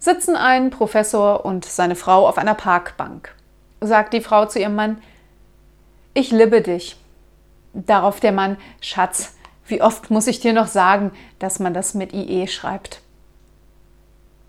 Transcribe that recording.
Sitzen ein Professor und seine Frau auf einer Parkbank. Sagt die Frau zu ihrem Mann: Ich liebe dich. Darauf der Mann: Schatz, wie oft muss ich dir noch sagen, dass man das mit IE schreibt?